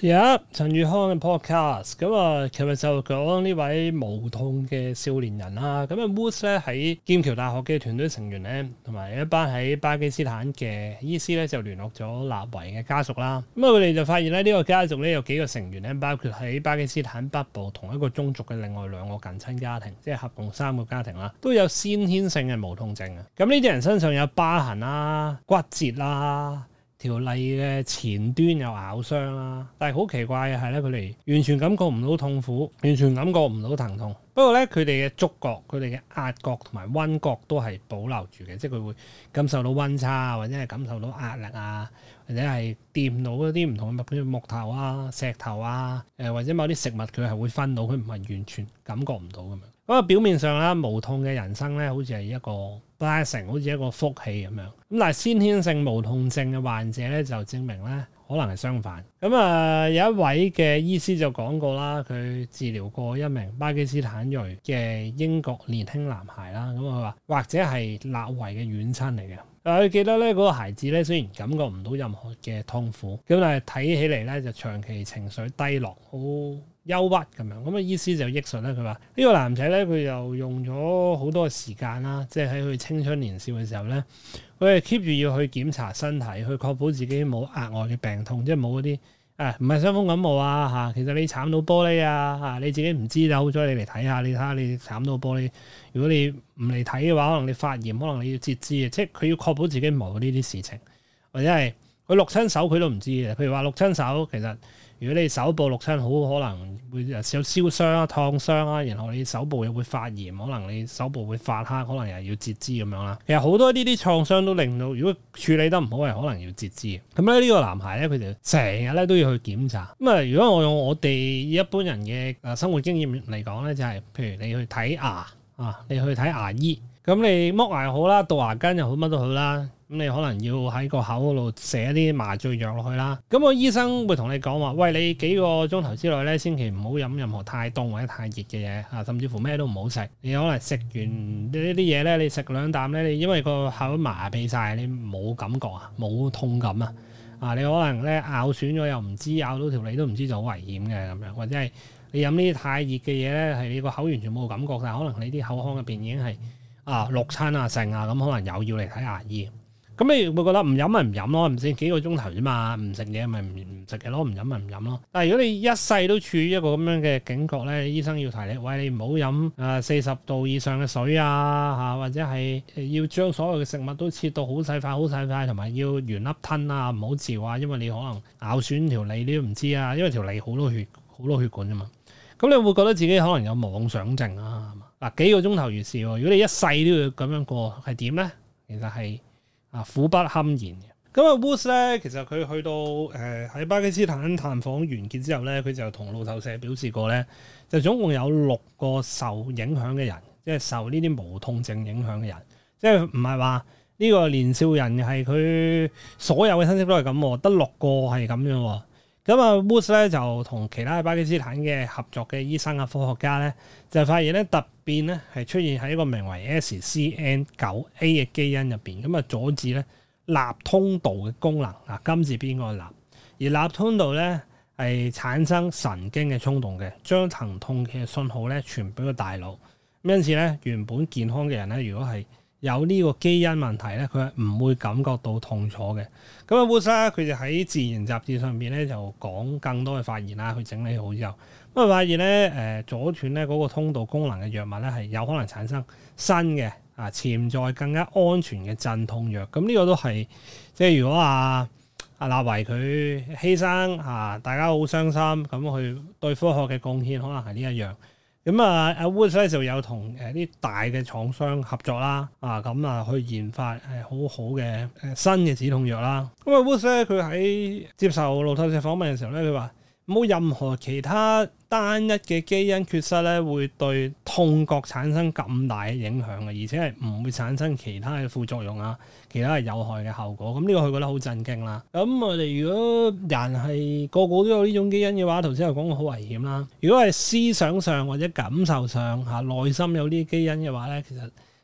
陳宇康嘅 podcast，咁啊，琴日就講呢位無痛嘅少年人啦。咁啊 Woods 咧喺劍橋大學嘅團隊成員咧，同埋一班喺巴基斯坦嘅醫師咧，就聯絡咗納維嘅家屬啦。咁啊，佢哋就發現咧，呢個家族咧有幾個成員咧，包括喺巴基斯坦北部同一個宗族嘅另外2個近親家庭，即係合共3個家庭啦，都有先天性嘅無痛症啊。咁呢啲人身上有疤痕啦、骨折啦。條脷嘅前端有咬傷啦，但係好奇怪嘅係咧，佢哋完全感覺唔到痛苦，完全感覺唔到疼痛。不過咧，佢哋嘅觸覺、佢哋嘅壓覺同埋溫覺都係保留住嘅，即係佢會感受到溫差，或者係感受到壓力啊，或者係掂到一啲唔同嘅物，譬如木頭啊、石頭啊，或者某啲食物佢係會分到，佢唔係完全感覺唔到咁樣。咁啊，表面上啦，無痛嘅人生咧，好似係一個 blessing， 好似一個福氣咁樣。咁但係先天性無痛症嘅患者咧，就證明咧可能係相反。咁啊，有一位嘅醫師就講過啦，佢治療過一名巴基斯坦裔嘅英國年輕男孩啦。咁佢話或者係納維嘅遠親嚟嘅。佢記得咧嗰個孩子咧，雖然感覺唔到任何嘅痛苦，咁但係睇起嚟咧就長期情緒低落，好憂鬱咁樣。咁啊，醫師就憶述咧，佢話呢個男仔咧，佢又用咗好多時間啦，即係喺佢青春年少嘅時候咧，佢係 keep 住要去檢查身體，去確保自己冇額外嘅病痛，即係冇嗰啲唔係傷風感冒啊嚇。其實你慘到玻璃啊嚇，你自己唔知就好彩你嚟睇下，你睇下你慘到玻璃。如果你唔嚟睇嘅話，可能你發炎，可能你要截肢嘅，即係佢要確保自己冇呢啲事情，或者係佢淥親手佢都唔知嘅。譬如話淥親手，其實如果你手部淥親，好可能會有燒傷啊、燙傷啊，然後你手部又會發炎，可能你手部會發黑，可能又要截肢咁樣啦。其實好多呢啲創傷都令到，如果處理得唔好，係可能要截肢嘅。咁咧呢個男孩咧，佢就成日咧都要去檢查。咁啊，如果我用我哋一般人嘅生活經驗嚟講咧，就係譬如你去睇牙啊，你去睇牙醫，咁你剝牙又好啦，杜牙根又好，乜都好啦。咁你可能要喺個口嗰度射一啲麻醉藥落去啦。咁個醫生會同你講話，喂，你幾個鐘頭之內咧，千祈唔好飲任何太凍或者太熱嘅嘢啊，甚至乎咩都唔好食。你可能食完呢啲嘢咧，你食2啖咧，你因為個口麻痹晒，你冇感覺啊，冇痛感啊。啊，你可能咧咬損咗又唔知，咬到條脷都唔知，就好危險嘅咁樣。或者係你飲呢啲太熱嘅嘢咧，係你個口完全冇感覺，但係可能你啲口腔入邊已經係淥親啊剩啊，咁可能又要嚟睇牙醫。咁你會覺得唔飲咪唔飲咯，唔知幾個鐘頭啫嘛，唔食嘢咪唔食嘅咯，唔飲咪唔飲咯。但係如果你一世都處於一個咁樣嘅警覺咧，醫生要提你，喂，你唔好飲40度以上嘅水啊嚇，或者係要將所有嘅食物都切到好細塊好細塊，同埋要原粒吞啊，唔好嚼啊，因為你可能咬損條脷你都唔知啊，因為條脷好多血管啫嘛。咁你會覺得自己可能有妄想症啊？嗱，幾個鐘頭如是喎，如果你一世都要咁樣過，係點咧？其實係苦不堪言嘅。咁啊 Woods 咧，其實佢去到喺巴基斯坦探訪完結之後咧，佢就同路透社表示過咧，就總共有6個受影響嘅人，即係受呢啲無痛症影響嘅人，即係唔係話呢個年少人係佢所有嘅親戚都係咁，得6個係咁樣。咁啊 Woods 咧就同其他巴基斯坦嘅合作嘅醫生啊、科學家咧，就發現咧突變咧係出現喺一個名為 SCN9A 嘅基因入邊，咁啊阻止咧納通道嘅功能啊，金字邊個納，而納通道咧係產生神經嘅衝動嘅，將疼痛嘅信號咧傳俾個大腦。因此咧，原本健康嘅人咧，如果係有呢個基因問題咧，佢係唔會感覺到痛楚嘅。咁啊 Woods 佢就喺《自然》雜誌上邊咧就講更多嘅發現啦，佢整理好之後，咁啊發現咧阻斷咧嗰個通道功能嘅藥物咧係有可能產生新嘅潛在更加安全嘅鎮痛藥。咁呢個都係即係如果阿納維佢犧牲大家好傷心，咁佢對科學嘅貢獻可能係呢一樣。咁阿 Woods 咧就有同啲大嘅廠商合作啦，去研發好好嘅新嘅止痛藥啦。咁啊 Woods 咧佢喺接受路透社訪問嘅時候咧，佢話冇任何其他單一嘅基因缺失咧，會對痛覺產生咁大嘅影響嘅，而且係唔會產生其他嘅副作用啊，其他係有害嘅後果。咁呢個佢覺得好震驚啦。咁我哋如果人係個個都有呢種基因嘅話，頭先又講過好危險啦。如果係思想上或者感受上內心有呢啲基因嘅話咧，其實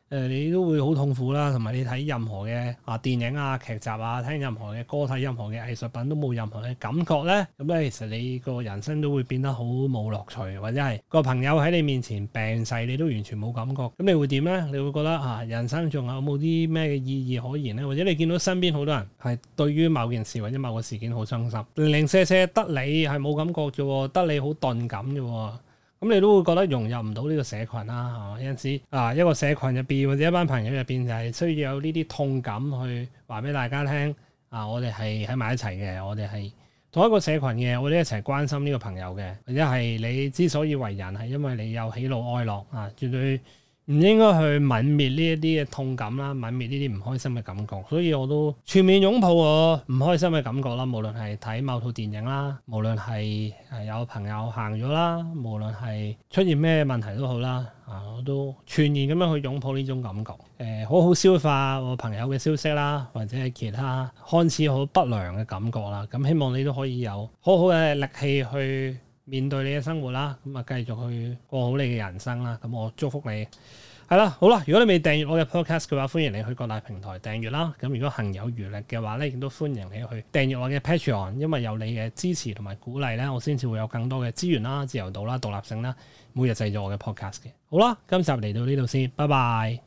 你都會好痛苦啦，同埋你睇任何嘅電影啊、劇集啊、聽任何嘅歌、睇任何嘅藝術品都冇任何嘅感覺咧，咁咧其實你個人生都會變得好冇樂趣，或者係個朋友喺你面前病逝，你都完全冇感覺，咁你會點咧？你會覺得人生仲有冇啲咩嘅意義可言咧？或者你見到身邊好多人係對於某件事或者某個事件好傷心，零零舍舍得你係冇感覺啫，得你好鈍感啫。咁你都會覺得融入唔到呢個社群啦，係嘛？有陣時一個社群入邊或者一班朋友入邊就係需要有呢啲痛感去話俾大家聽我哋係喺埋一齊嘅，我哋係同一個社群嘅，我哋一齊關心呢個朋友嘅，或者係你之所以為人係因為你有喜怒哀樂絕對唔應該去泯滅呢一啲嘅痛感啦，泯滅呢啲唔開心嘅感覺，所以我都全面擁抱我唔開心嘅感覺啦。無論係睇某套電影啦，無論係有朋友行咗啦，無論係出現咩問題都好啦，我都全然咁樣去擁抱呢種感覺，好好消化我朋友嘅消息啦，或者係其他看似好不良嘅感覺啦。咁希望你都可以有好好嘅力氣去面對你嘅生活啦，咁繼續去過好你嘅人生啦。咁我祝福你。係啦，好啦，如果你未訂閱我嘅 podcast 嘅話，歡迎你去各大平台訂閱啦。咁如果行有餘力嘅話咧，亦都歡迎你去訂閱我嘅 Patreon，因為有你嘅支持同埋鼓勵咧，我先至會有更多嘅資源啦、自由度啦、獨立性啦，每日製作我嘅 podcast 嘅。好啦，今集嚟到呢度先，拜拜。